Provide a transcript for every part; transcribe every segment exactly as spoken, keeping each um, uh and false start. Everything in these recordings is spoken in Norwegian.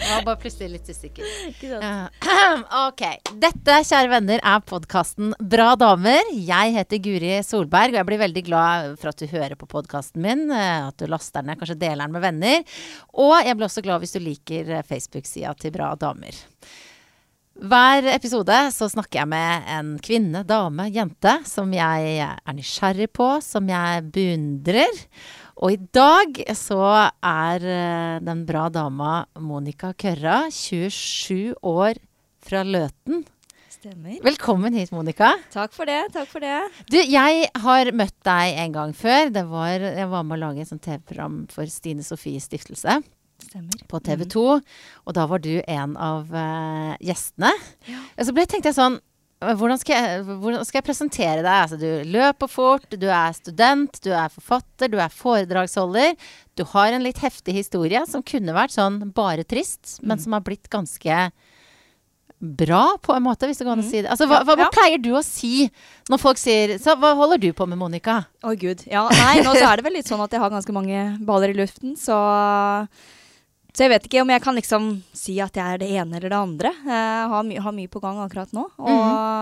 Jeg var bare plutselig litt usikker. Uh, ok, dette, kjære venner, er podcasten Bra Damer. Jeg heter Guri Solberg, og jeg blir veldig glad for at du hører på podcasten min, at du laster den, kanskje deler den med venner. Og jeg blir også glad hvis du liker Facebook-sida til Bra Damer. Hver episode så snakker jeg med en kvinne, dame, jente, som jeg er nysgjerrig på, som jeg beundrer. Og i dag så er den bra dama Monica Kørra, tjuesju år fra Løten. Stemmer. Velkommen hit, Monica. Takk for det, takk for det. Du, jeg har møtt deg en gang før. Det var, jeg var med å lage et sånt T V-program for Stine Sofies stiftelse. Stemmer. På T V to, mm. og da var du en av uh, gjestene. Ja. Og så ble, tenkte jeg sånn, hvordan skal jeg, hvordan skal jeg presentere deg? Altså, du løper fort, du er student, du er forfatter, du er foredragsholder. Du har en litt heftig historie som kunne vært sånn bare trist, mm. men som har blitt ganske bra på en måte, hvis det går an å si det. Altså, hva, hva, hva pleier du å si når folk sier, så hva holder du på med, Monica? Å Gud, ja, nei, nå så er det vel litt sånn at jeg har ganske mange baller i luften, så... Så jeg vet ikke om jeg kan liksom si at jeg er det ene eller det andre. Jeg har, my har mye på gang akkurat nå. Og,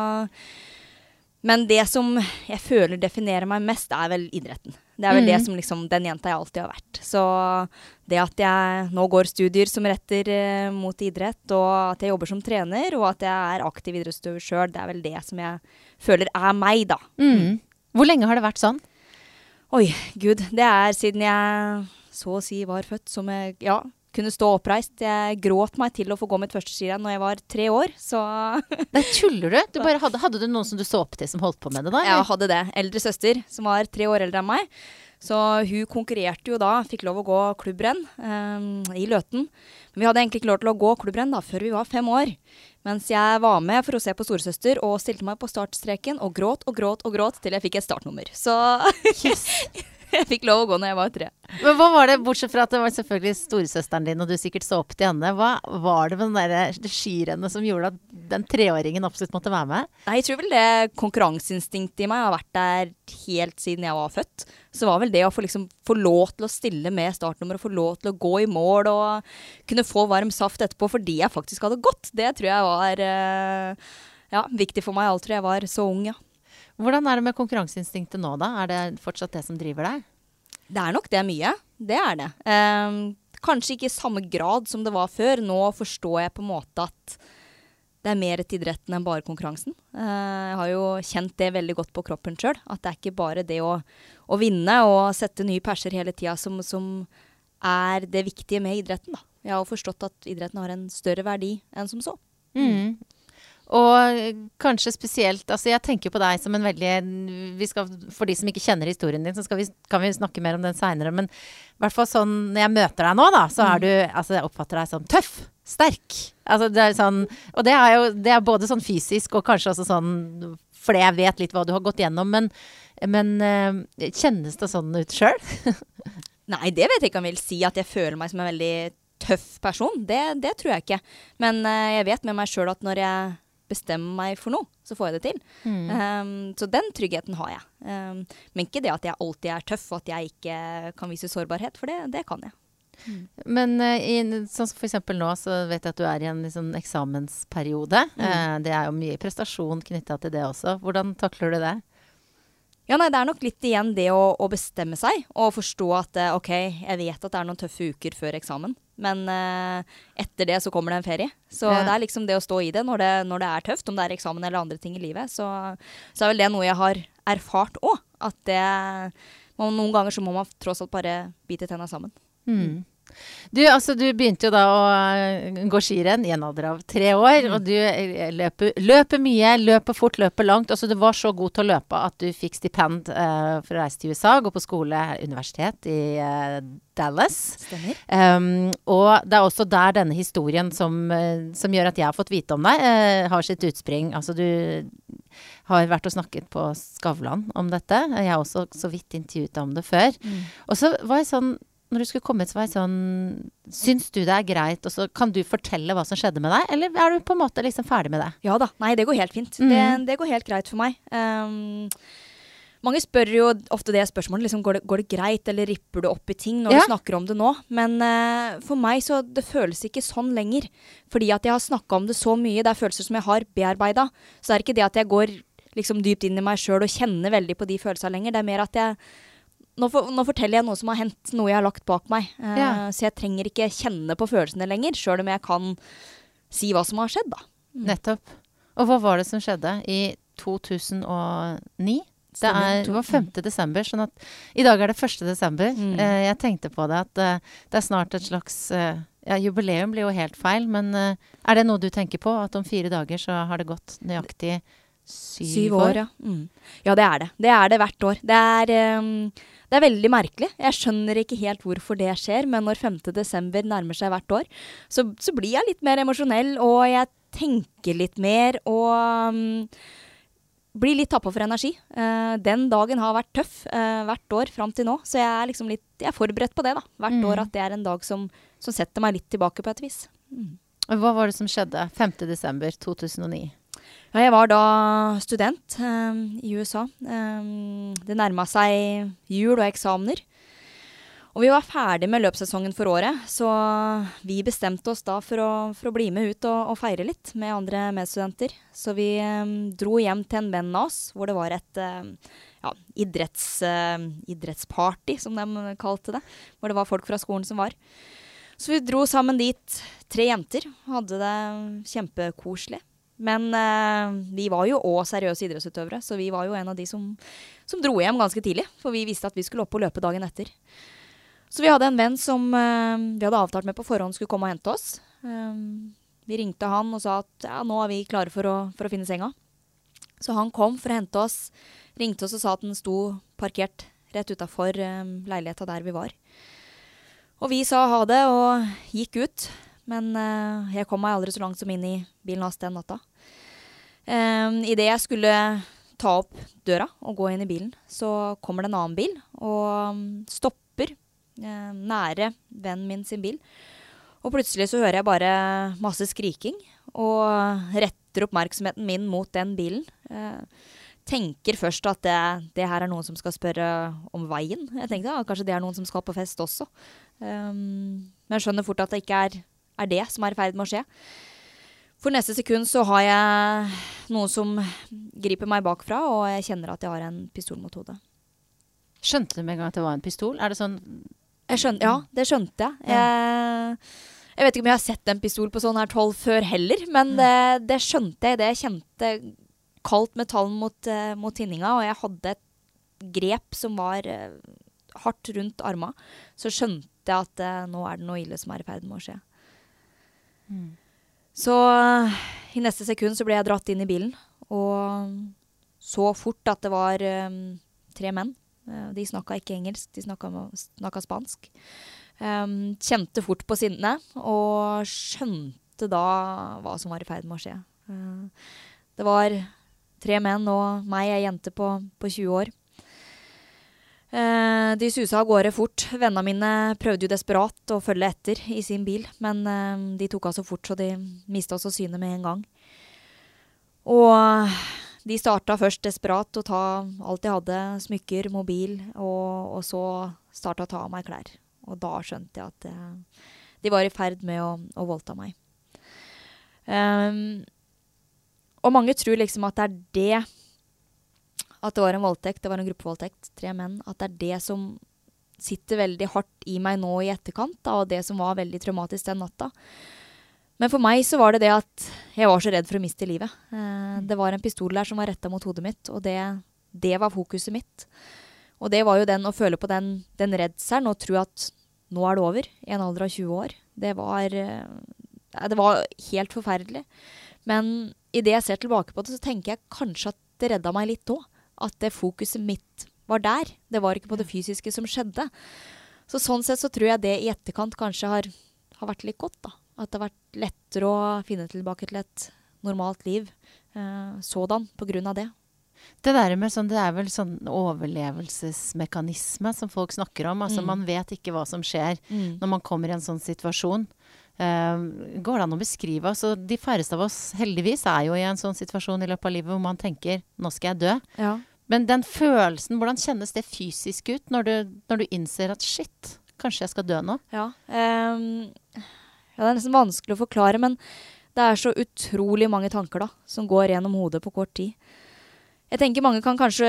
mm. Men det som jeg føler definerer meg mest er vel idretten. Det er vel mm. det som liksom den jenta jeg alltid har vært. Så det at jeg nå går studier som retter uh, mot idrett, og at jeg jobber som trener, og at jeg er aktiv idrettsutøver selv, det er vel det som jeg føler er meg da. Mm. Hvor lenge har det vært sånn? Oi, Gud. Det er siden jeg så å si var født som jeg... Ja, kunne stå oppreist. Jeg gråt meg til å få gå mitt første skirenn når jeg var tre år, så... Nei, tuller du? Du bare hadde, hadde du noen som du så opp til som holdt på med det da? Ja, jeg hadde det. Eldre søster, som var tre år eldre enn meg. Så hun konkurrerte jo da, fikk lov å gå klubbrenn um, i Løten. Men vi hadde egentlig ikke lov til å gå klubbrenn da, før vi var fem år. Mens jeg var med for å se på storesøster og stilte meg på startstreken og gråt og gråt og gråt til jeg fikk et startnummer. Så... Yes. Jeg fikk lov å gå når jeg var tre. Men hva var det, bortsett fra at det var selvfølgelig storesøsteren din, og du sikkert så opp til henne, hva var det med den der, det skirennet som gjorde at den treåringen absolutt måtte være med? Nei, jeg tror vel det konkurranseinstinktet i meg har vært der helt siden jeg var født. Så var vel det å få, liksom, få lov til å stille med startnummer, og få lov til å gå i mål, og kunne få varm saft etterpå, fordi jeg faktisk hadde gått. Det tror jeg var ja, viktig for meg, alt tror jeg var så ung, ja. Hvordan er det med konkurranseinstinktet nå da? Er det fortsatt det som driver deg? Det er nok det mye. Det er det. Um, kanskje ikke i samme grad som det var før. Nå forstår jeg på en måte at det er mer til idretten enn bare konkurransen. Uh, jeg har jo kjent det veldig godt på kroppen selv. At det er ikke bare det å, å vinne og sette nye perser hele tiden som, som er det viktige med idretten. Da. Jeg har forstått at idretten har en større verdi enn som så. Mm. Og kanskje spesielt, altså jeg tenker på deg som en veldig, vi skal, for de som ikke kjenner historien din, så skal vi, kan vi snakke mer om den senere, men i hvert fall sånn, når jeg møter deg nå da, så er du, altså jeg oppfatter deg som tøff, sterk, altså det er sånn, og det er jo, det er både sånn fysisk og kanskje også sånn, fordi jeg vet litt hva du har gått gjennom, men, men kjennes det sånn ut selv? Nei, det vet jeg ikke om jeg vil si, at jeg føler meg som en veldig tøff person, det, det tror jeg ikke, men jeg vet med meg selv at når jeg bestemmer meg for noe, så får jeg det til. Mm. Um, så den tryggheten har jeg. Um, men ikke det at jeg alltid er tøff, og at jeg ikke kan vise sårbarhet, for det, det kan jeg. Mm. Men uh, i, sånn som for eksempel nå, så vet jeg at du er i en liksom, eksamensperiode. Mm. Uh, det er jo mye prestasjon knyttet til det også. Hvordan takler du det? Ja, nei, det er nok litt igjen det å, å bestemme seg, og forstå at, ok, jeg vet at det er noen tøffe uker før eksamen, men uh, etter det så kommer det en ferie. Så ja. Det er liksom det å stå i det når, det når det er tøft, om det er eksamen eller andre ting i livet, så, så er vel det noe jeg har erfart også, at det, man, noen ganger så må man tross alt bare bite tenna sammen. Mm. Du, altså, du begynte jo da å gå skirenn i en alder av tre år, mm. og du løper, løper mye, løper fort, løper langt. Altså, du var så god til å løpe at du fikk stipend uh, for å reise til U S A, gå på skole, universitet i uh, Dallas. Stemmer. Um, og det er også der denne historien som, uh, som gjør at jeg har fått vite om deg, uh, har sitt utspring. Altså, du har vært og snakket på Skavlan om dette. Jeg har også så vidt intervjuet om det før. Mm. Og så var jeg sånn, når du skulle komme ut, så var jeg sånn, syns du det er greit, og så kan du fortelle hva som skjedde med deg, eller er du på en måte liksom ferdig med det? Ja da, nei, det går helt fint. Mm. Det, det går helt greit for meg. Um, mange spør jo ofte det spørsmålet, liksom, går, det, går det greit, eller ripper du opp i ting når ja. du snakker om det nå? Men uh, for meg så det føles ikke sånn lenger. Fordi at jeg har snakket om det så mye, det er følelser som jeg har bearbeidet. Så det er ikke det at jeg går liksom dypt inn i meg selv og kjenner veldig på de følelsene lenger. Det er mer at jeg, nå, for, nå forteller jeg noe som har hendt, noe jeg har lagt bak meg. Uh, ja. Så jeg trenger ikke kjenne på følelsene lenger, selv om jeg kan si hva som har skjedd da. Mm. Nettopp. Og hva var det som skjedde i to tusen og ni? Det, er, det var femte desember, sånn at i dag er det første desember. Mm. Uh, jeg tenkte på det at uh, det er snart et slags, uh, ja, jubileum blir jo helt feil, men uh, er det noe du tenker på? At om fire dager så har det gått nøyaktig syv, syv år? år ja. Mm. Ja, det er det. Det er det hvert år. Det er, um, det er veldig merkelig. Jeg skjønner ikke helt hvorfor det skjer, men når femte desember nærmer seg hvert år, så, så blir jeg litt mer emosjonell, og jeg tenker litt mer, og... Um, blir litt tappet for energi. Uh, den dagen har vært tøff uh, hvert år frem til nå, så jeg er liksom litt, jeg er forberedt på det da. Hvert mm. år at det er en dag som, som setter meg litt tilbake på et vis. Mm. Hva var det som skjedde femte desember to tusen og ni? Ja, jeg var da student um, i U S A. Um, det nærmet seg jul og eksamener. Og vi var ferdig med løpssesongen for året, så vi bestemte oss da for å, for å bli med ut og, og feire litt med andre medstudenter. Så vi um, dro hjem til en venn av oss, hvor det var et uh, ja, idretts, uh, idrettsparty, som de kalte det. Hvor det var folk fra skolen som var. Så vi dro sammen dit, tre jenter, hadde det kjempekoselig. Men uh, vi var jo også seriøse idrettsutøvere, så vi var jo en av de som, som dro hjem ganske tidlig. For vi visste at vi skulle opp og løpe dagen etter. Så vi hadde en venn som uh, vi hadde avtalt med på forhånd skulle komme og hente oss. Um, vi ringte han og sa at ja, nå er vi klare for å, for å finne senga. Så han kom for å hente oss, ringte oss og sa at den sto parkert rett utenfor um, leiligheten der vi var. Og vi sa ha det og gikk ut, men uh, jeg kom meg aldri så langt som inn i bilen hans den natta. Um, I det jeg skulle ta opp døra og gå inn i bilen, så kommer det en annen bil og um, stopper Eh, nære vennen min sin bil. Og plutselig så hører jeg bare masse skriking og retter oppmerksomheten min mot den bilen. Eh, tenker først at det, det her er noen som skal spørre om veien. Jeg tenkte ja, kanskje det er noen som skal på fest også. Um, men jeg skjønner fort at det ikke er, er det som er i ferd med å skje. For neste sekund så har jeg noen som griper meg bakfra, og jeg kjenner at jeg har en pistol mot hodet. Skjønte du med en gang at det var en pistol? Er det sånn... Jeg skjønte, ja, det skjønte jeg. Ja. jeg. Jeg vet ikke om jeg har sett en pistol på sånn her tolv før heller, men det, det skjønte jeg. Det jeg kjente kaldt metall mot, uh, mot tinninga, og jeg hadde et grep som var uh, hardt rundt arma. Så skjønte jeg at uh, nå er det noe ille som er i ferd med å skje. Mm. Så uh, i neste sekund så ble jeg dratt inn i bilen, og så fort at det var um, tre menn. De snakket ikke engelsk, de snakket, snakket spansk. Um, kjente fort på sinne, og skjønte da hva som var i ferd med å skje. Uh, det var tre menn og meg, ei jente på, på tjue år. Uh, de suset av gårde fort. Vennene mine prøvde jo desperat å følge etter i sin bil, men uh, de tok av så fort, så de mistet oss å syne med en gang. Og... De startet først desperat å ta alt jeg hadde, smykker, mobil, og, og så startet å ta av meg klær. Og da skjønte jeg at uh, de var i ferd med å, å voldta meg. Um, og mange tror liksom at det er det, at det var en voldtekt, det var en gruppevoldtekt, tre menn, at det er det som sitter veldig hardt i meg nå i etterkant, da, og det som var veldig traumatisk den natta. Men for meg så var det det at jeg var så redd for å miste livet. Eh, det var en pistol der som var rettet mot hodet mitt, og det, det var fokuset mitt. Og det var jo den å føle på den, den redselen og tro at nå er det over i en alder av tjue år. Det var, eh, det var helt forferdelig. Men i det jeg ser tilbake på det, så tenker jeg kanskje at det redda meg litt også. At det fokuset mitt var der. Det var ikke på det fysiske som skjedde. Så sånn sett så tror jeg det i etterkant kanskje har, har vært litt godt da. At det har vært lettere å finne tilbake til et normalt liv eh, sådan på grunn av det. Det der med sånn, det er vel sånn overlevelsesmekanisme som folk snakker om. Altså mm. man vet ikke hva som skjer mm. når man kommer i en sånn situasjon. Uh, går det an å beskrive? Altså, de færreste av oss heldigvis er jo i en sånn situasjon i løpet av livet hvor man tenker, nå skal jeg dø. Ja. Men den følelsen, hvordan kjennes det fysisk ut når du, når du innser at shit, kanskje jeg skal dø nå? Ja, um, ja, det er nesten vanskelig å forklare, men det er så utrolig mange tanker da, som går gjennom hodet på kort tid. Jeg tenker mange kan kanskje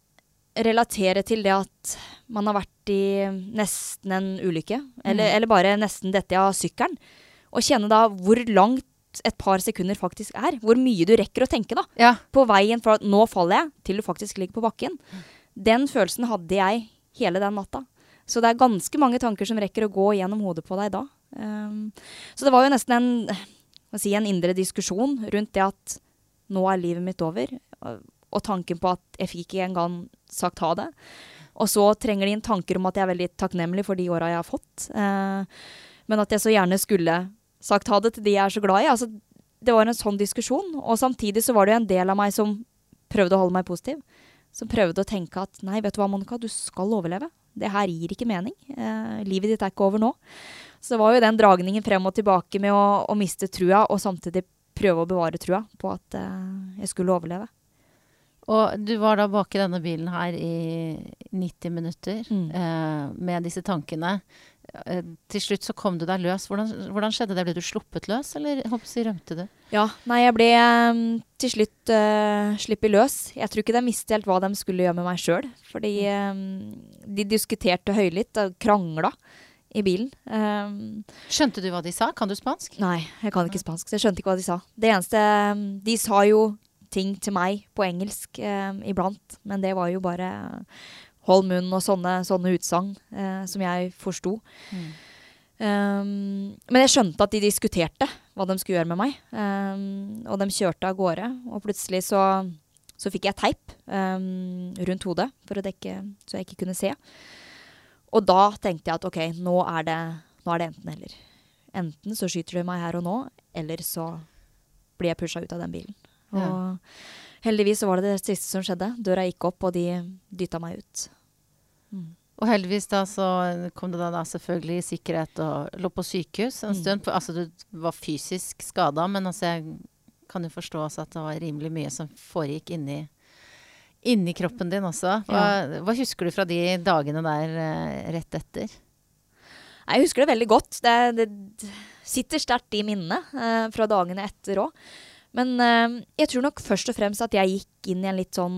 relatere til det at man har vært i nesten en ulykke, eller, mm. eller bare nesten dette av sykkelen, og kjenne da hvor langt et par sekunder faktisk er. Hvor mye du rekker å tenke da. Ja. På veien fra nå faller jeg til du faktisk ligger på bakken. Den følelsen hadde jeg hele den natta. Så det er ganske mange tanker som rekker å gå gjennom hodet på deg da. Um, så det var jo nesten en, hva si, en indre diskusjon rundt det at nå er livet mitt over. Og, og tanken på at jeg fikk ikke engang sagt ha det. Og så trenger de inn tanker om at jeg er veldig takknemlig for de årene jeg har fått. Uh, men at jeg så gjerne skulle sagt ha det til de jeg er så glad i. Altså, det var en sånn diskusjon, og samtidig så var det jo en del av meg som prøvde å holde meg positiv. Som prøvde å tenke at, nei, vet du hva, Monica, du skal overleve. Det her gir ikke mening. Eh, livet ditt er ikke over nå. Så det var jo den dragningen frem og tilbake med å, å miste trua, og samtidig prøve å bevare trua på at eh, jeg skulle overleve. Og du var da bak i denne bilen her i nitti minutter mm. eh, med disse tankene. Eh, til slutt så kom du deg løs. Hvordan, hvordan skjedde det? Ble du sluppet løs, eller håper jeg, rømte du? Ja, nei, jeg ble um, til slutt uh, slippet løs. Jeg tror ikke de visste helt hva de skulle gjøre med meg selv. Fordi um, de diskuterte høylytt og krangla i bilen. Um, Skjønte du hva de sa? Kan du spansk? Nei, jeg kan ikke spansk, så jeg skjønte ikke hva de sa. Det eneste, um, de sa jo ting til meg på engelsk um, iblant, men det var jo bare hold munn og sånne, sånne utsagn uh, som jeg forsto. Mm. Um, men jeg skjønte at de diskuterte hva de skulle gjøre med meg. Um, og de kjørte av gårde, og plutselig så, så fikk jeg teip um, rundt hodet for å dekke, så jeg ikke kunne se. Og da tenkte jeg at ok, nå er det, nå er det enten eller. Enten så skyter de meg her og nå, eller så blir jeg pushet ut av den bilen. Og ja. Heldigvis så var det det siste som skjedde. Døra gikk opp, og de dyttet meg ut. Mm. Og heldigvis da så kom det da, da selvfølgelig i sikkerhet og lå på sykehus en stund. Mm. Altså du var fysisk skadet, men altså jeg kan jo forstå også at det var rimelig mye som foregikk inni, inni kroppen din også. Hva, ja. Hva husker du fra de dagene der eh, rett etter? Jeg husker det veldig godt. Det, det sitter sterkt i minnet eh, fra dagene etter også. Men eh, jeg tror nok først og fremst at jeg gikk inn i en litt sånn...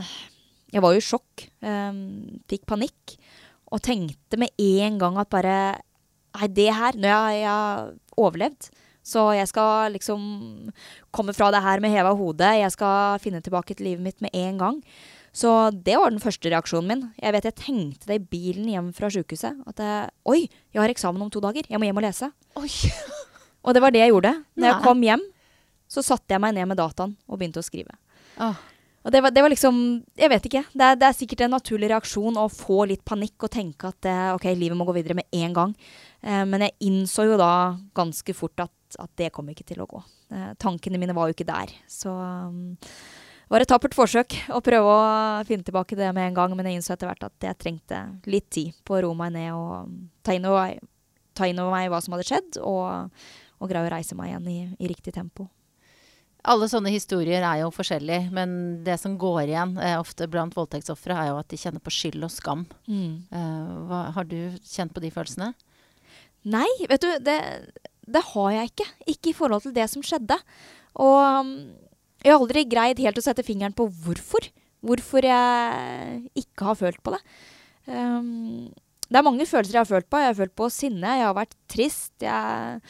Jeg var jo i sjokk, eh, fikk panikk, og tenkte med en gang at bare, nei, det her, når jeg, jeg har overlevd, så jeg skal liksom komme fra det her med hevet hodet, jeg skal finne tilbake til livet mitt med en gang. Så det var den første reaksjonen min. Jeg vet, jeg tenkte det i bilen hjem fra sykehuset, at jeg, oi, jeg har eksamen om to dager, jeg må hjem og lese. Oi. Og det var det jeg gjorde. Når jeg kom hjem, så satte jeg meg ned med dataen og begynte å skrive. Oh. Og det var, det var liksom, jeg vet ikke, det er, det er sikkert en naturlig reaksjon å få litt panikk og tenke at eh, ok, livet må gå videre med en gang. Eh, men jeg innså jo da ganske fort at, at det kom ikke til å gå. Eh, tankene mine var jo ikke der. Så um, det var et tappert forsøk å prøve å finne tilbake det med en gang, men jeg innså etter hvert at jeg trengte litt tid på å roe meg ned og ta inn over, ta inn over meg hva som hadde skjedd, og, og greie å reise meg igjen i, i riktig tempo. Alle sånne historier er jo forskjellige, men det som går igjen eh, ofte blant voldtektsoffere er jo at de kjenner på skyld og skam. Mm. Eh, hva, har du kjent på de følelsene? Nei, vet du, det, det har jeg ikke. Ikke i forhold til det som skjedde. Og um, jeg har aldri greid helt å sette fingeren på hvorfor. Hvorfor jeg ikke har følt på det. Um, det er mange følelser jeg har følt på. Jeg har følt på sinne, jeg har vært trist, jeg...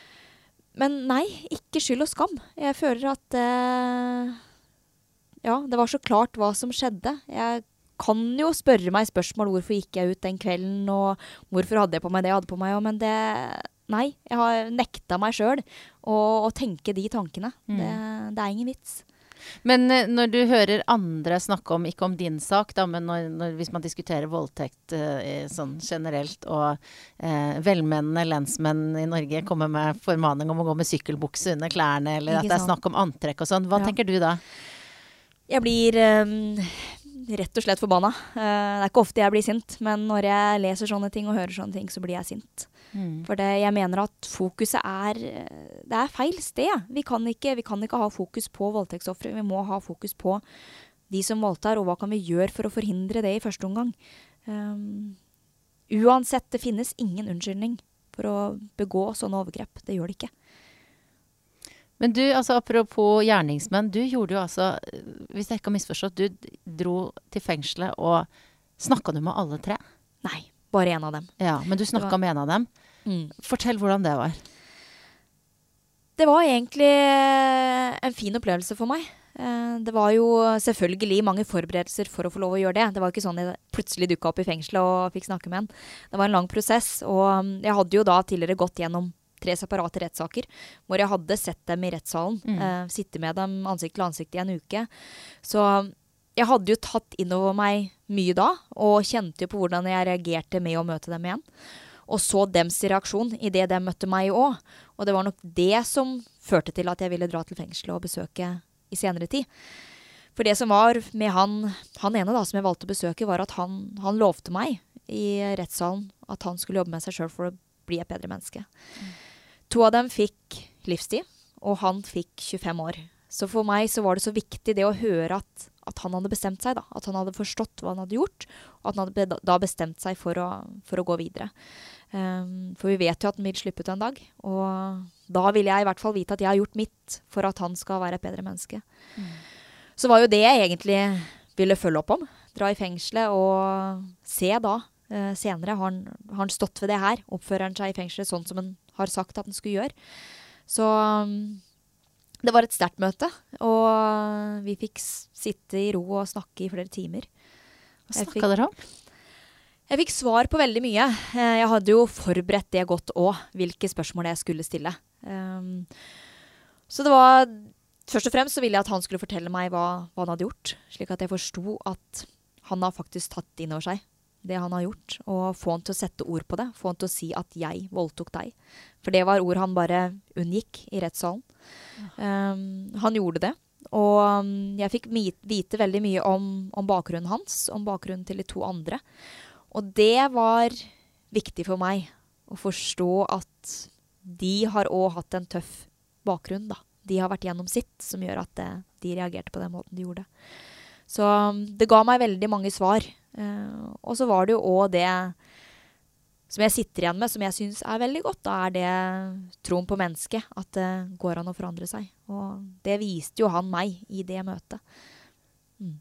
Men nei, ikke skyld og skam. Jeg føler at eh, ja, det var så klart hva som skjedde. Jeg kan jo spørre meg spørsmål hvorfor gikk jeg ut den kvelden, og hvorfor hadde jeg på meg det jeg hadde på meg. Men det, nei, jeg har nekta meg selv å, å tenke de tankene. Mm. Det, det er ingen vits. Men eh, når du hører andre snakke om, ikke om din sak, da, men når, når, hvis man diskuterer voldtekt eh, sånn generelt, og eh, velmenende lensmenn i Norge kommer med formaning om å gå med sykkelbukse under klærne, eller ikke at det er snakk om antrekk og sånn, hva ja. tenker du da? Jeg blir um, rett og slett forbanna. Uh, det er ikke ofte jeg blir sint, men når jeg leser sånne ting og hører sånne ting, så blir jeg sint. Mm. For det, jeg mener at fokuset er, det er feil sted. Vi kan ikke, vi kan ikke ha fokus på voldtektsoffere. Vi må ha fokus på de som voldtar, og hva kan vi gjøre for å forhindre det i første omgang. Um, uansett, det finnes ingen unnskyldning for å begå sånne overgrep. Det gjør det ikke. Men du, altså apropos gjerningsmenn, du gjorde jo altså, hvis jeg ikke har misforstått, du dro til fengselet og snakket du med alle tre? Nei, bare en av dem. Ja, men du snakket var... med en av dem. Mm. Fortell hvordan det var. Det var egentlig en fin opplevelse for meg. Det var jo selvfølgelig mange forberedelser for å få lov å gjøre det. Det var ikke sånn jeg plutselig dukket opp i fengselet og fikk snakke med en. Det var en lang prosess, og jeg hadde jo da tidligere gått gjennom tre separate rettssaker, hvor jeg hadde sett dem i rettssalen, mm. eh, sitte med dem ansikt til ansikt i en uke. Så jeg hadde jo tatt inn over meg mye da, og kjente jo på hvordan jeg reagerte med å møte dem igjen. Og så dems reaksjon i det de møtte meg også. Og det var nok det som førte til at jeg ville dra til fengselet og besøke i senere tid. For det som var med han, han ene da, som jeg valgte å besøke, var at han, han lovte meg i rettssalen at han skulle jobbe med seg selv for å bli et bedre menneske. Mm. To av dem fikk livstid, og han fikk tjuefem år. Så for meg så var det så viktig det å høre at, at han hadde bestemt seg, da. At han hadde forstått hva han hadde gjort, og at han hadde da bestemt seg for å, for å gå videre. Um, for vi vet jo at han vil slippe ut en dag, og da vil jeg i hvert fall vite at jeg har gjort mitt for at han skal være et bedre menneske. Mm. Så var jo det jeg egentlig ville følge opp om. Dra i fengselet og se da, uh, senere har han, har han stått ved det her, oppfører han seg i fengselet sånn som han har sagt at han skulle gjøre. Så um, det var et sterkt møte, og vi fikk sitte i ro og snakke i flere timer. Hva snakket dere om? Jeg fikk svar på veldig mye. Jeg hadde jo forberedt det godt også, hvilke spørsmål jeg skulle stille. Um, så det var, først og fremst så ville jeg at han skulle fortelle meg hva, hva han hadde gjort, slik at jeg forstod at han har faktisk tatt inn over seg det han har gjort, og få han til å sette ord på det, få han til å si at jeg voldtok deg. For det var ord han bare unngikk i rettssalen. Um, han gjorde det, og um, jeg fikk vite veldig mye om, om bakgrunnen hans, om bakgrunnen til de to andre. Og det var viktig for meg å forstå at de har også hatt en tøff bakgrunn, da. De har vært gjennom sitt, som gjør at det, de reagerte på den måten de gjorde. Så um, det ga meg veldig mange svar. Uh, og så var det jo også det som jeg sitter igjen med, som jeg synes er veldig godt. Da er det troen på mennesket, at det går an å forandre seg. Og det viste jo han meg i det møtet. Mm.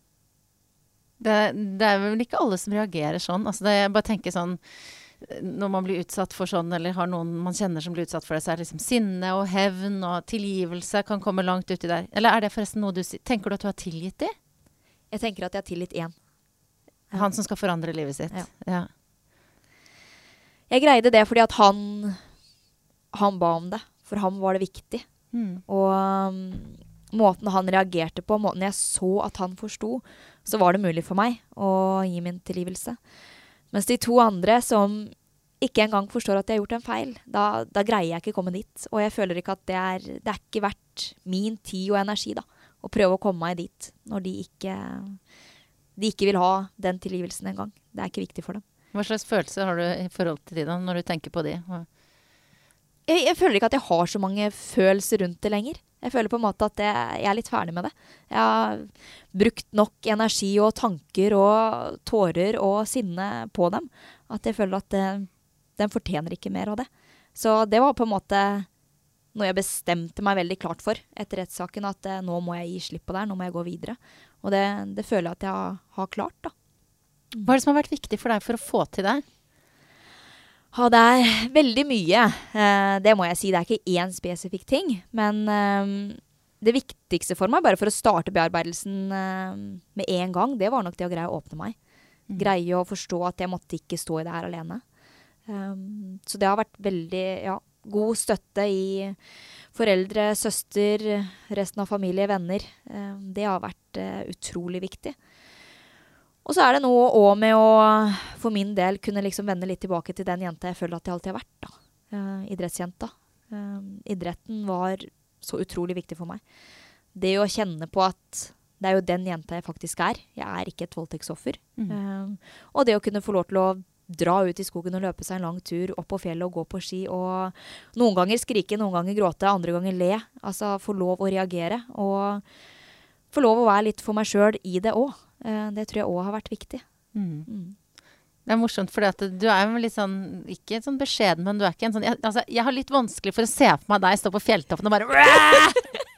Det, det er vel ikke alle som reagerer sånn. Altså det, jeg bare tenker sånn, når man blir utsatt for sånn, eller har noen man kjenner som blir utsatt for det, så er det liksom sinne og hevn og tilgivelse kan komme langt uti der. Eller er det forresten noe du tenker du at du har tilgitt det? Jeg tenker at jeg har tilgitt én. Han som skal forandre livet sitt. Ja. Ja. Jeg greide det fordi at han, han ba om det. For ham var det viktig. Mm. Og um, måten han reagerte på, måten jeg så at han forstod, så var det mulig for meg å gi min tilgivelse. Mens de to andre som ikke engang forstår at jeg har gjort en feil, da, da greier jeg ikke komme dit. Og jeg føler ikke at det er, det er ikke verdt min tid og energi da, å prøve å komme meg dit når de ikke, de ikke vil ha den tilgivelsen en gang. Det er ikke viktig for dem. Hva slags følelse har du i forhold til de da, når du tenker på de? Jeg, jeg føler ikke at jeg har så mange følelser rundt det lenger. Jeg føler på en måte at jeg, jeg er litt ferdig med det. Jeg har brukt nok energi og tanker og tårer og sinne på dem, at jeg føler at det, den fortjener ikke mer av det. Så det var på en måte noe jeg bestemte meg veldig klart for etter rettssaken, at eh, nå må jeg gi slipp på det, nå må jeg gå videre. Og det, det føler jeg at jeg har, har klart da. Hva er det som har vært viktig for deg for å få til det? Ja, det er veldig mye. Eh, det må jeg si. Det er ikke én spesifikk ting. Men eh, det viktigste for meg, bare for å starte bearbeidelsen eh, med en gang, det var nok det å greie å åpne meg. Mm. Greie å forstå at jeg måtte ikke stå i det her alene. Um, så det har vært veldig ja, god støtte i foreldre, søster, resten av familie, venner. Um, det har vært uh, utrolig viktig. Og så er det noe også med å, for min del, kunne liksom vende litt tilbake til den jenta jeg føler at jeg alltid har vært, da. Uh, idrettsjenta. Um, idretten var så utrolig viktig for meg. Det å kjenne på at det er jo den jenta jeg faktisk er. Jeg er ikke et voldtektsoffer. Mm. Um, og det å kunne få lov til å dra ut i skogen og løpe seg en lang tur, opp på fjellet og gå på ski, og noen ganger skrike, noen ganger gråte, andre ganger le. Altså få lov å reagere. Og få lov å være litt for meg selv i det også. Uh, det tror jeg også har vært viktig. Mm. Mm. Det er morsomt, fordi at du er jo litt sånn, ikke sånn beskjeden, men du er ikke en sånn, jeg, altså, jeg har litt vanskelig for å se for meg deg stå på fjelltoppen og bare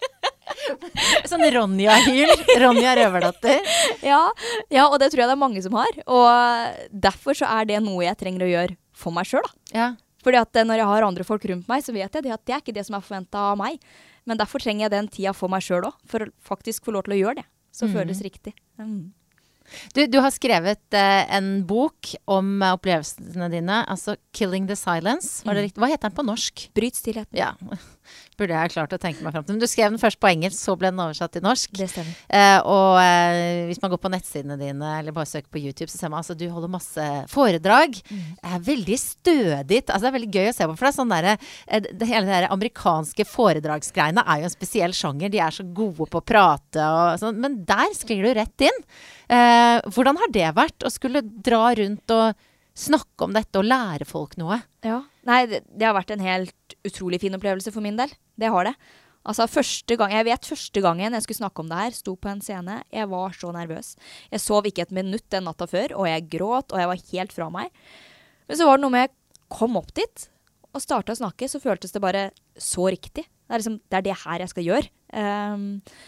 sånn Ronja-hyl, Ronja Røverdatter. Ja, ja, og det tror jeg det er mange som har, og derfor så er det noe jeg trenger å gjøre for meg selv da. Ja. Fordi at når jeg har andre folk rundt meg, så vet jeg det at det er ikke det som er forventet av meg, men derfor trenger jeg den tida for meg selv også, for å faktisk få lov til å gjøre det, så mm. føles riktig. Mm. Du, du har skrevet eh, en bok om eh, opplevelsene dine, altså Killing the Silence. Var det riktig? Hva heter den på norsk? Bryt stillheten. Ja, burde jeg klart å tenke meg frem til. Men du skrev den først på engelsk, så ble den oversatt til norsk. Det stemmer. Eh, og eh, hvis man går på nettsidene dine, eller bare søker på YouTube, så ser man altså du holder masse foredrag. Mm. Det er veldig stødig. Altså det er veldig gøy å se på, for det er sånn der, eh, det hele det der amerikanske foredragsgreiene er jo en spesiell sjanger. De er så gode på å prate og sånn, men der sklir du rett inn. Eh, hvordan har det vært å skulle dra rundt og snakke om dette og lære folk noe? Ja, nei, det, det har vært en helt utrolig fin opplevelse for min del. Det har det. Altså første gang, jeg vet første gangen jeg skulle snakke om det her, sto på en scene, jeg var så nervøs. Jeg sov ikke et minutt den natta før, og jeg gråt, og jeg var helt fra meg. Men så var det noe med, jeg kom opp dit, og startet å snakke, så føltes det bare så riktig. Det er liksom, det er det her jeg skal gjøre. Um,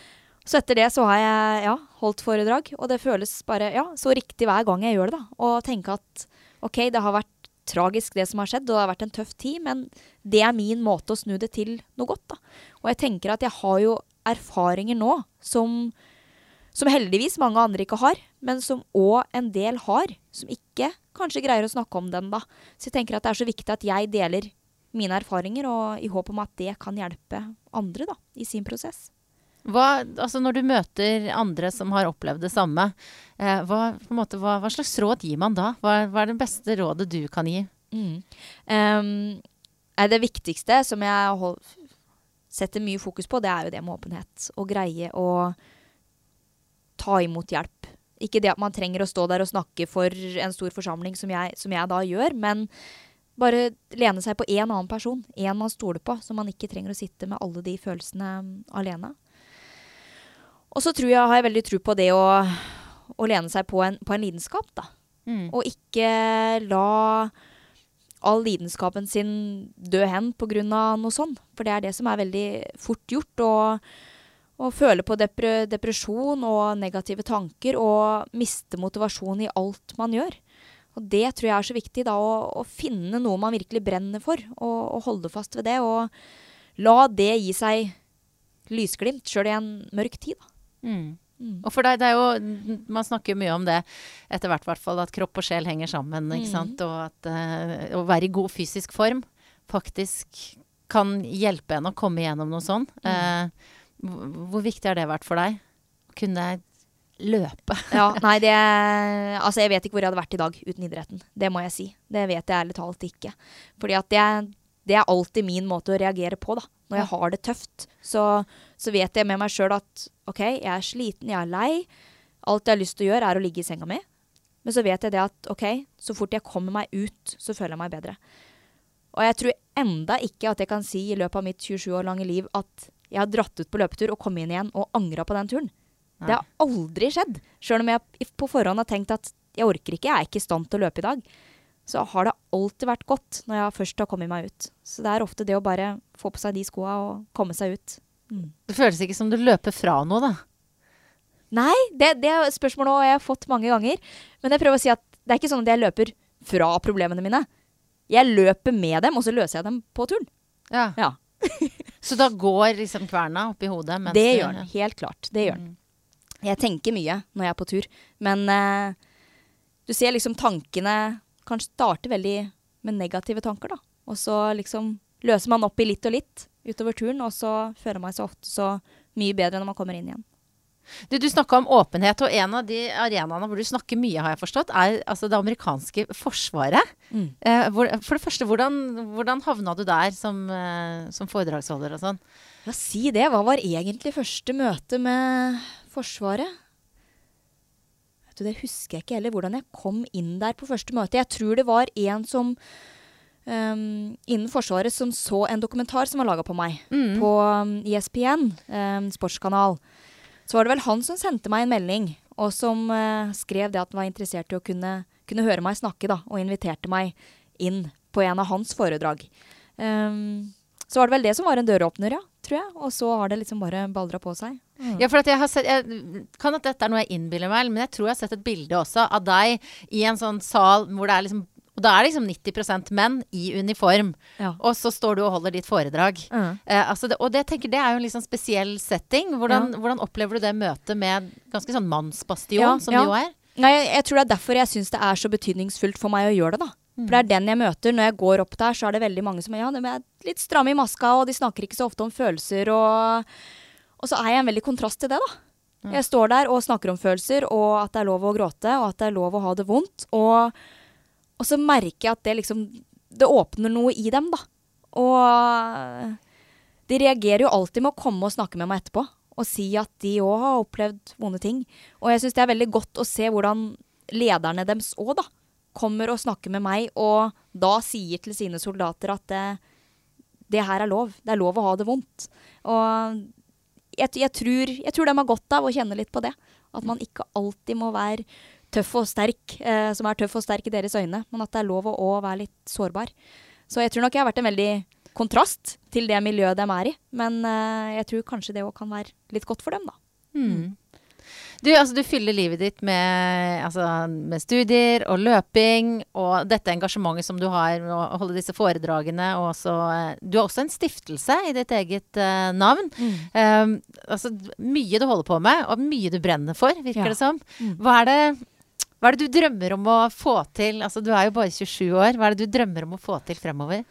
Så etter det så har jeg ja, holdt foredrag, og det føles bare ja, så riktig hver gang jeg gjør det da. Og tenke at ok, det har vært tragisk det som har skjedd, og det har vært en tøff tid, men det er min måte å snu det til noe godt da. Og jeg tenker at jeg har jo erfaringer nå som, som heldigvis mange andre ikke har, men som også en del har, som ikke kanskje greier å snakke om den da. Så jeg tenker at det er så viktig at jeg deler mine erfaringer, og i håp om at det kan hjelpe andre da, i sin prosess. Hva, altså når du møter andre som har opplevd det samme, eh, hva, på en måte, hva, hva slags råd gir man da? Hva, hva er det beste rådet du kan gi? Mm. Um, er det viktigste som jeg hold, setter mye fokus på, det er jo det med åpenhet. Å greie å ta imot hjelp. Ikke det at man trenger å stå der og snakke for en stor forsamling som jeg, som jeg da gjør, men bare lene seg på en annen person, en man stoler på, så man ikke trenger å sitte med alle de følelsene alene. Og så tror jeg, har jeg veldig tro på det å, å lene seg på en, på en lidenskap da. Mm. Og ikke la all lidenskapen sin dø hen på grunn av noe sånt. For det er det som er veldig fort gjort. Å føle på depre, depresjon og negative tanker og miste motivasjon i alt man gjør. Og det tror jeg er så viktig da, å, å finne noe man virkelig brenner for. Og, og holde fast ved det. Og la det gi seg lysglimt selv i en mørk tid da. Mm. Mm. Og for deg, det er jo, man snakker mye om det etter hvert, hvert fall, at kropp og sjel henger sammen, ikke sant? Mm. Og at uh, å være i god fysisk form faktisk kan hjelpe en å komme igjennom noe sånn. Mm. Uh, hvor, hvor viktig har det vært for deg? Å kunne løpe? Ja, nei, det, altså jeg vet ikke hvor jeg hadde vært i dag uten idretten. Det må jeg si. Det vet jeg ærlig talt ikke. Fordi at det, det er alltid min måte å reagere på da. Når jeg har det tøft, så, så vet jeg med meg selv at ok, jeg er sliten, jeg er lei. Alt jeg har lyst til å gjøre er å ligge i senga mi. Men så vet jeg det at ok, så fort jeg kommer meg ut, så føler jeg meg bedre. Og jeg tror enda ikke at jeg kan si i løpet av mitt tjuesju år lange liv at jeg har dratt ut på løpetur og kommet inn igjen og angret på den turen. Nei. Det har aldri skjedd. Selv om jeg på forhånd har tenkt at jeg orker ikke, jeg er ikke i stand til å løpe i dag. Så har det alltid vært godt når jeg først har kommet meg ut. Så det er ofte det å bare få på seg de skoene og komme seg ut. Mm. Det føles ikke som du løper fra noe da? Nei, det, det er spørsmålet jeg har fått mange ganger. Men jeg prøver å si at det er ikke sånn at jeg løper fra problemene mine. Jeg løper med dem, og så løser jeg dem på turen. Ja. Ja. Så da går liksom kverna opp i hodet? Mens det gjør den, helt klart. Det gjør den. Jeg tenker mye når jeg er på tur. Men uh, du ser liksom tankene kan starte veldig med negative tanker da. Og så liksom løser man opp i litt og litt utover turen, og så føler man seg ofte så mye bedre når man kommer inn igjen. Du, du snakket om åpenhet, og en av de arenaene hvor du snakker mye, har jeg forstått, er altså det amerikanske forsvaret. Mm. Eh, hvor, for det første, hvordan, hvordan havna du der som, eh, som foredragsholder og sånn? Ja, si det. Hva var egentlig første møte med forsvaret? Det husker jeg ikke heller, hvordan jeg kom inn der på første møte. Jeg tror det var en som um, innen Forsvaret som så en dokumentar som var laget på meg, mm. på um, E S P N, um, sportskanal. så var det vel han som sendte meg en melding, og som uh, skrev det at han var interessert i å kunne, kunne høre meg snakke da, og inviterte meg inn på en av hans foredrag. Um, så var det vel det som var en døråpner, ja, tror jeg. Og så har det liksom bare baldret på seg. Mm. Ja, for at jeg har sett, jeg, kan at dette er noe jeg innbiller meg, men jeg tror jeg har sett et bilde også av deg i en sånn sal hvor det er liksom, og da er det liksom nitti prosent menn i uniform, ja. Og så står du og holder ditt foredrag. Mm. Eh, altså det, og det, jeg tenker, det er jo en liksom spesiell setting. Hvordan, ja. Hvordan opplever du det møtet med ganske sånn mannsbastion, ja, som ja. Det jo er? Nei, jeg, jeg tror det er derfor jeg synes det er så betydningsfullt for meg å gjøre det da. Mm. For det er den jeg møter. Når jeg går opp der, så er det veldig mange som ja, de er litt stramme i maska, og de snakker ikke så ofte om følelser, og, og så er jeg en veldig kontrast til det da. Mm. Jeg står der og snakker om følelser, og at det er lov å gråte, og at det er lov å ha det vondt, og, og så merker jeg at det liksom, det åpner noe i dem da. Og de reagerer jo alltid med å komme og snakke med meg etterpå, og si at de også har opplevd vonde ting. Og jeg synes det er veldig godt å se hvordan lederne deres også da, kommer og snakker med meg, og da sier til sine soldater at det, det her er lov. Det er lov å ha det vondt. Og jeg, jeg, tror, jeg tror de har godt av å kjenne litt på det. At man ikke alltid må være tøff og sterk, eh, som er tøff og sterk i deres øyne, men at det er lov å, å være litt sårbar. Så jeg tror nok jeg har vært en veldig kontrast til det miljøet de er i, men eh, jeg tror kanskje det også kan være litt godt for dem da. Mm. Du, altså, du fyller livet ditt med, altså, med studier og løping, og dette engasjementet som du har med å holde disse foredragene, og også, du har også en stiftelse i ditt eget uh, navn. Mm. Um, altså, mye du holder på med, og mye du brenner for, virker ja. Det som. Mm. Hva er det, hva er det du drømmer om å få til? Altså, du er jo bare tjuesju år. Hva er det du drømmer om å få til fremover?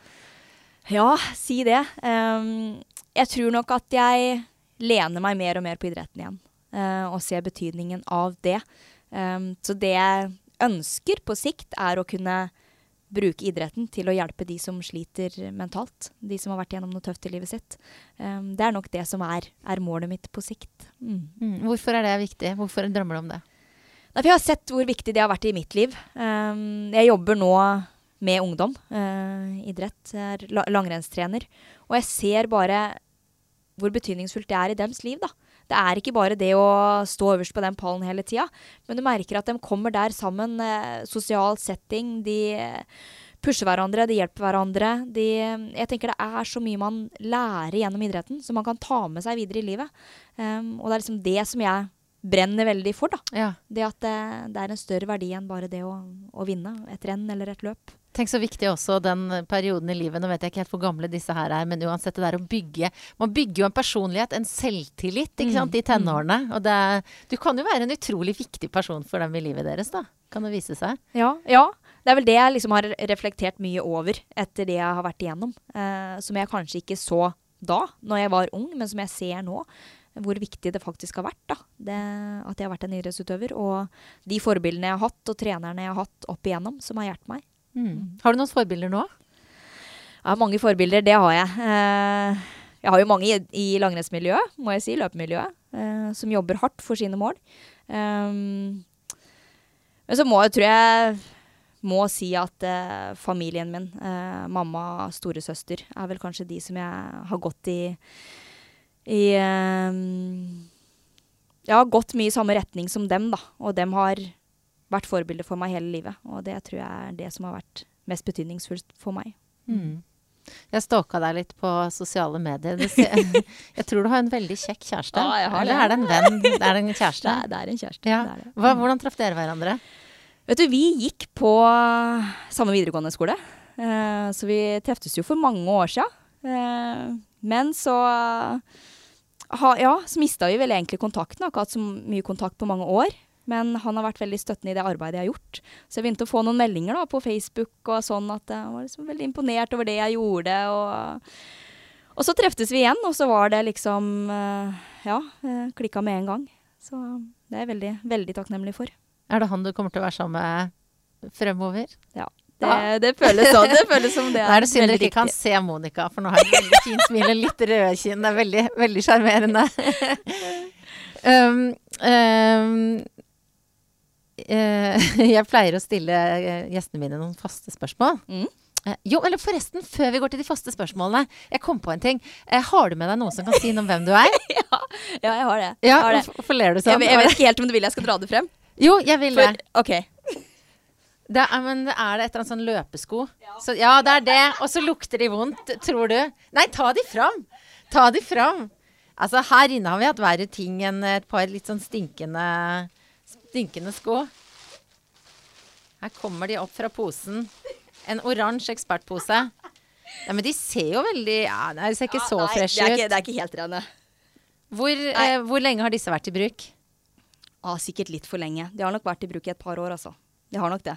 Ja, si det. Um, jeg tror nok at jeg lener meg mer og mer på idretten igjen. Uh, og ser betydningen av det. Um, så det jeg ønsker på sikt er å kunne bruke idretten til å hjelpe de som sliter mentalt. De som har vært gjennom noe tøft i livet sitt. Um, det er nok det som er, er målet mitt på sikt. Mm. Mm. Hvorfor er det viktig? Hvorfor drømmer du om det? Nei, for jeg har sett hvor viktig det har vært i mitt liv. Um, jeg jobber nå med ungdom. Uh, idrett. Jeg er la- langrennstrener. Og jeg ser bare hvor betydningsfullt det er i deres liv da. Det er ikke bare det å stå øverst på den pallen hele tida, men du merker at de kommer der sammen, eh, sosial setting, de pusher hverandre, de hjelper hverandre. De, jeg tenker det er så mye man lærer gjennom idretten, som man kan ta med seg videre i livet. Um, og det er liksom det som jeg brenner veldig for da. Ja. Det at det, det er en større verdi enn bare det å, å vinne et renn eller et løp. Tenk så viktig også den perioden i livet, nå vet jeg ikke helt hvor gamle disse her er, men uansett det der å bygge, man bygger jo en personlighet, en selvtillit, ikke sant, i tenårene, og det, du kan jo være en utrolig viktig person for dem i livet deres da, kan det vise seg? Ja, ja. Det er vel det jeg liksom har reflektert mye over etter det jeg har vært igjennom, eh, som jeg kanskje ikke så da, når jeg var ung, men som jeg ser nå, hvor viktig det faktisk har vært da, det, at jeg har vært en idrettsutøver, og de forbildene jeg har hatt, og trenerne jeg har hatt opp igjennom, som har hjulpet meg. Mm. Har du noen forbilder nå? Ja, mange forbilder, det har jeg. Eh, jeg har jo mange i, i langrennsmiljøet, må jeg si, løpemiljøet, eh, som jobber hardt for sine mål. Um, men så må jeg, tror jeg, må si at eh, familien min, eh, mamma, storesøster, er vel kanskje de som jeg har gått i, i um, jeg har gått mye i samme retning som dem da, og dem har vært forbilder for meg hele livet, og det tror jeg er det som har vært mest betydningsfullt for meg. Mm. Jeg stalket deg litt på sosiale medier. Jeg, jeg tror du har en veldig kjekk kjæreste. Ja, jeg har Eller det. er det en venn? Det er det en kjæreste? Det er, det er en kjæreste. Ja. Det er det. Hva, hvordan traff dere hverandre? Vet du, vi gikk på samme videregående skole, uh, så vi treftes jo for mange år siden. Uh, men så, ha, ja, så mistet vi vel egentlig kontakten, har ikke hatt så mye kontakt på mange år. Men han har vært veldig støttende i det arbeidet jeg har gjort. Så jeg begynte å få noen meldinger da, på Facebook og sånn, at jeg var liksom veldig imponert over det jeg gjorde. Og, og så treftes vi igjen, og så var det liksom, ja, klikket med en gang. Så det er jeg veldig, veldig takknemlig for. Er det han du kommer til å være sammen med fremover? Ja, det, ja. det føles sånn. Det føles som det er. Nå er det synd dere ikke kan se Monica, for nå har jeg veldig fint smil og litt røde kinn. Det er veldig, veldig charmerende. um, um, Uh, jeg pleier å stille gjestene mine noen faste spørsmål. Mm. Eh, jo, eller forresten, før vi går til de faste spørsmålene, jeg kom på en ting. Eh, har du med deg noen som kan si noe om hvem du er? ja, ja, jeg har det. Ja, jeg har det. Hvorfor ler du sånn? Jeg, jeg vet ikke helt om du vil jeg skal dra det frem. Jo, jeg vil det. For, ok. Det er, men er det et eller annet sånn løpesko? Ja. Så, ja, det er det. Og så lukter de vondt, tror du? Nei, ta de fram. Ta de fram. Altså, her inne har vi hatt verre ting enn et par litt sånn stinkende, stinkende sko. Her kommer de opp fra posen. En oransje ekspertpose. Ja, men de ser jo veldig ja, de ser ikke ja, så nei, fresh ut. Ikke, det er ikke helt rene. Hvor, eh, hvor lenge har disse vært i bruk? Ah, sikkert litt for lenge. De har nok vært i bruk i et par år, altså. De har nok det.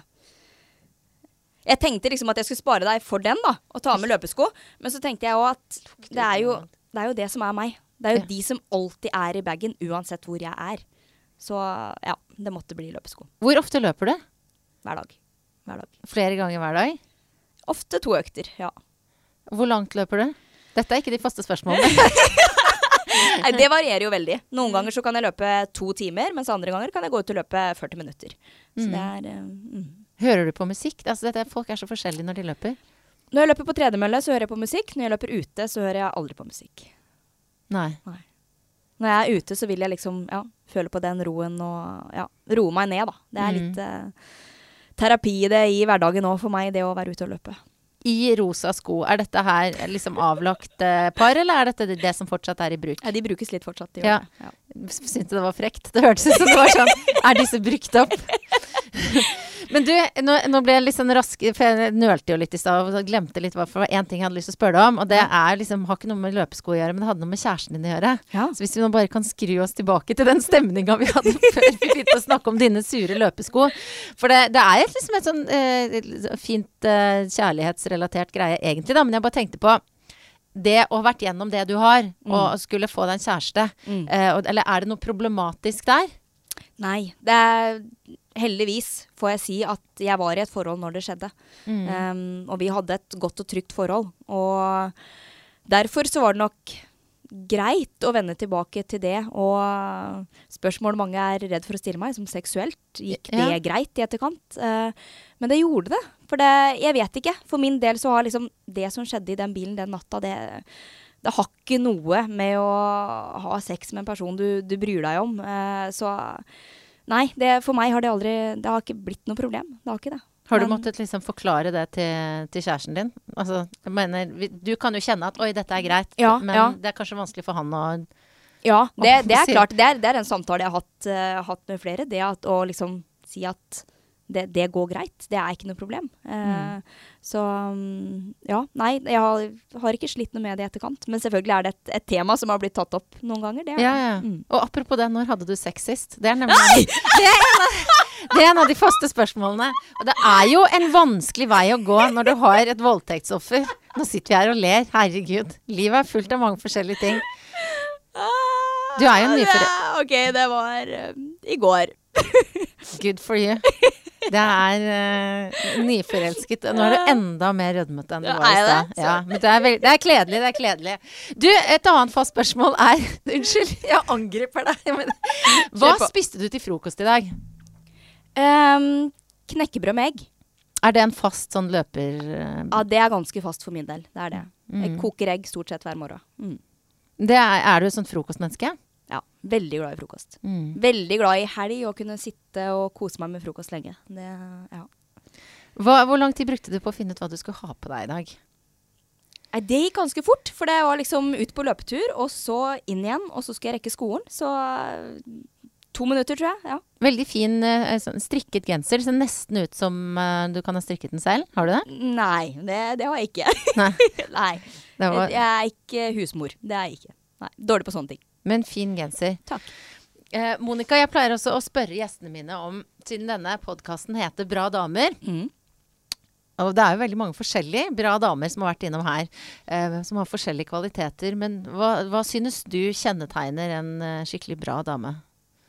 Jeg tenkte liksom at jeg skulle spare deg for den, da. Og ta med løpesko. Men så tenkte jeg også at det er jo det, er jo det som er meg. Det er jo ja. de som alltid er i bagen, uansett hvor jeg er. Så ja, det måtte bli løpesko. Hvor ofte løper du? Hver dag. Hver dag. Flere ganger hver dag? Ofte to økter, ja. Hvor langt løper du? Dette er ikke de faste spørsmålene. Nei, det varierer jo veldig. Noen ganger så kan jeg løpe to timer, mens andre ganger kan jeg gå ut og løpe førti minutter. Så mm. det er... Mm. Hører du på musikk? Altså, dette, folk er så forskjellige når de løper. Når jeg løper på tredemølle, så hører jeg på musikk. Når jeg løper ute, så hører jeg aldri på musikk. Nei. Nei. Når jeg er ute, så vil jeg liksom, ja, føle på den roen og, ja, roe meg ned, da. Det er mm. litt... Uh, terapi i det i hverdagen nå for meg, det å være ute og løpe. I rosa sko, er dette her liksom avlagt eh, par, eller er dette det som fortsatt er i bruk? Ja, de brukes litt fortsatt. De ja. Ja. Syntes det var frekt? Det hørtes ut som det var sånn, er disse brukt opp? Men du, nå, nå ble jeg litt sånn rask, for jeg nølte jo litt i stad, og glemte litt hva for en ting jeg hadde lyst til å spørre deg om, og det er liksom, har ikke noe med løpesko å gjøre, men det hadde noe med kjæresten din å gjøre. Ja. Så hvis vi nå bare kan skru oss tilbake til den stemningen vi hadde før vi begynte å snakke om dine sure løpesko, for det, det er liksom et sånn eh, fint eh, kjærlighetsrelatert greie egentlig da, men jeg bare tenkte på det å ha vært gjennom det du har, mm. og skulle få deg en kjæreste, mm. eh, og, eller er det noe problematisk der? Nei, det er heldigvis får jeg si at jeg var i et forhold når det skjedde. Mm. Um, og vi hadde et godt og trygt forhold. Og derfor så var det nok greit å vende tilbake til det. Og spørsmål mange er redd for å stille meg, som seksuelt. Gikk det ja. greit i etterkant? Uh, men det gjorde det. For det, jeg vet ikke. For min del så har liksom det som skjedde i den bilen den natta, det... Det har ikke noe med å ha sex med en person du, du bryr deg om. Uh, så nei, det, for meg har det aldri, det har ikke blitt noe problem. Det har ikke det. Har du Men, måttet liksom forklare det til, til kjæresten din? Altså, jeg mener, du kan jo kjenne at, oi, dette er greit, ja, men ja. det er kanskje vanskelig for han å... Ja, det, det er klart. Det er, det er en samtale jeg har hatt, uh, hatt med flere. Det at, å liksom si at det, det går greit. Det er ikke noe problem. Uh, mm. Så um, ja, nei, jeg har, har ikke slitt noe med det i etterkant. Men selvfølgelig er det et, et tema som har blitt tatt opp noen ganger. Det er, ja, ja. Mm. Og apropos det, når hadde du sex sist? Det er nemlig det er, en av, det er en av de faste spørsmålene. Og det er jo en vanskelig vei å gå når du har et voldtektsoffer. Nå sitter vi her og ler. Herregud. Livet er fullt av mange forskjellige ting. Du er jo nyforelsket. Ok, det var um, i går. Good for you. Det er uh, nyforelsket. Nå er du enda mer rødmete enn du var i sted. Ja, men det er, veld- det er kledelig, det er kledelig. Du, et annet fast spørsmål er... Unnskyld, jeg angriper deg. Men, hva spiste du til frokost i dag? Um, knekkebrød med egg. Er det en fast sånn løper... Uh, ja, det er ganske fast for min del. Det er det. Mm. Jeg koker egg stort sett hver morgen. Mm. Det er, er du et sånt frokostmenneske? Ja, veldig glad i frokost. Mm. Veldig glad i helg å kunne sitte og kose meg med frokost lenge. Det, ja. Hva, hvor lang tid brukte du på å finne ut hva du skulle ha på deg i dag? Nei, det gikk ganske fort, for det var liksom ut på løpetur, og så inn igjen, og så skal jeg rekke skolen. Så to minutter, tror jeg, ja. Veldig fin uh, sånn strikket genser. Det ser nesten ut som uh, du kan ha strikket den selv. Har du det? Nei, det, det har jeg ikke. Nei. Nei. Var... Jeg er ikke husmor. Det er jeg ikke. Nei, dårlig på sånne ting. Men fin genser. Takk. Eh, Monica, jeg pleier også å spørre gjestene mine om, siden denne podcasten heter Bra damer, mm. og det er jo veldig mange forskjellige bra damer som har vært innom her, eh, som har forskjellige kvaliteter, men hva, hva synes du kjennetegner en uh, skikkelig bra dame?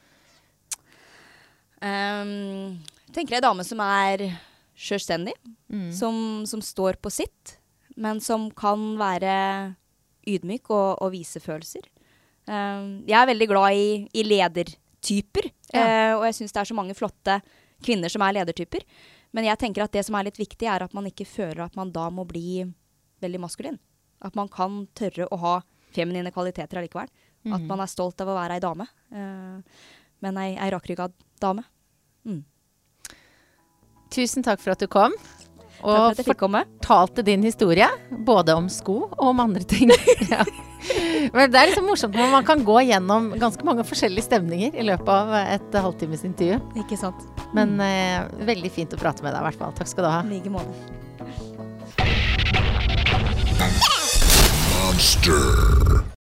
Um, tenker jeg en dame som er selvstendig, mm. som, som står på sitt, men som kan være ydmyk og, og vise følelser. Um, jeg er veldig glad i, i ledertyper, ja. uh, og jeg synes det er så mange flotte kvinner som er ledertyper. Men jeg tenker at det som er litt viktig er at man ikke føler at man da må bli veldig maskulin. At man kan tørre å ha feminine kvaliteter allikevel. Mm. At man er stolt av å være ei dame. Uh, men ei, ei rakrygget dame. Mm. Tusen takk for at du kom. Og fortalte din historie, både om sko og om andre ting. Ja. Men det er liksom morsomt når man kan gå gjennom ganske mange forskjellige stemninger i løpet av et halvtimes intervju. Ikke sant. Men eh, veldig fint å prate med deg i hvert fall. Takk skal du ha. Like måte. Monster.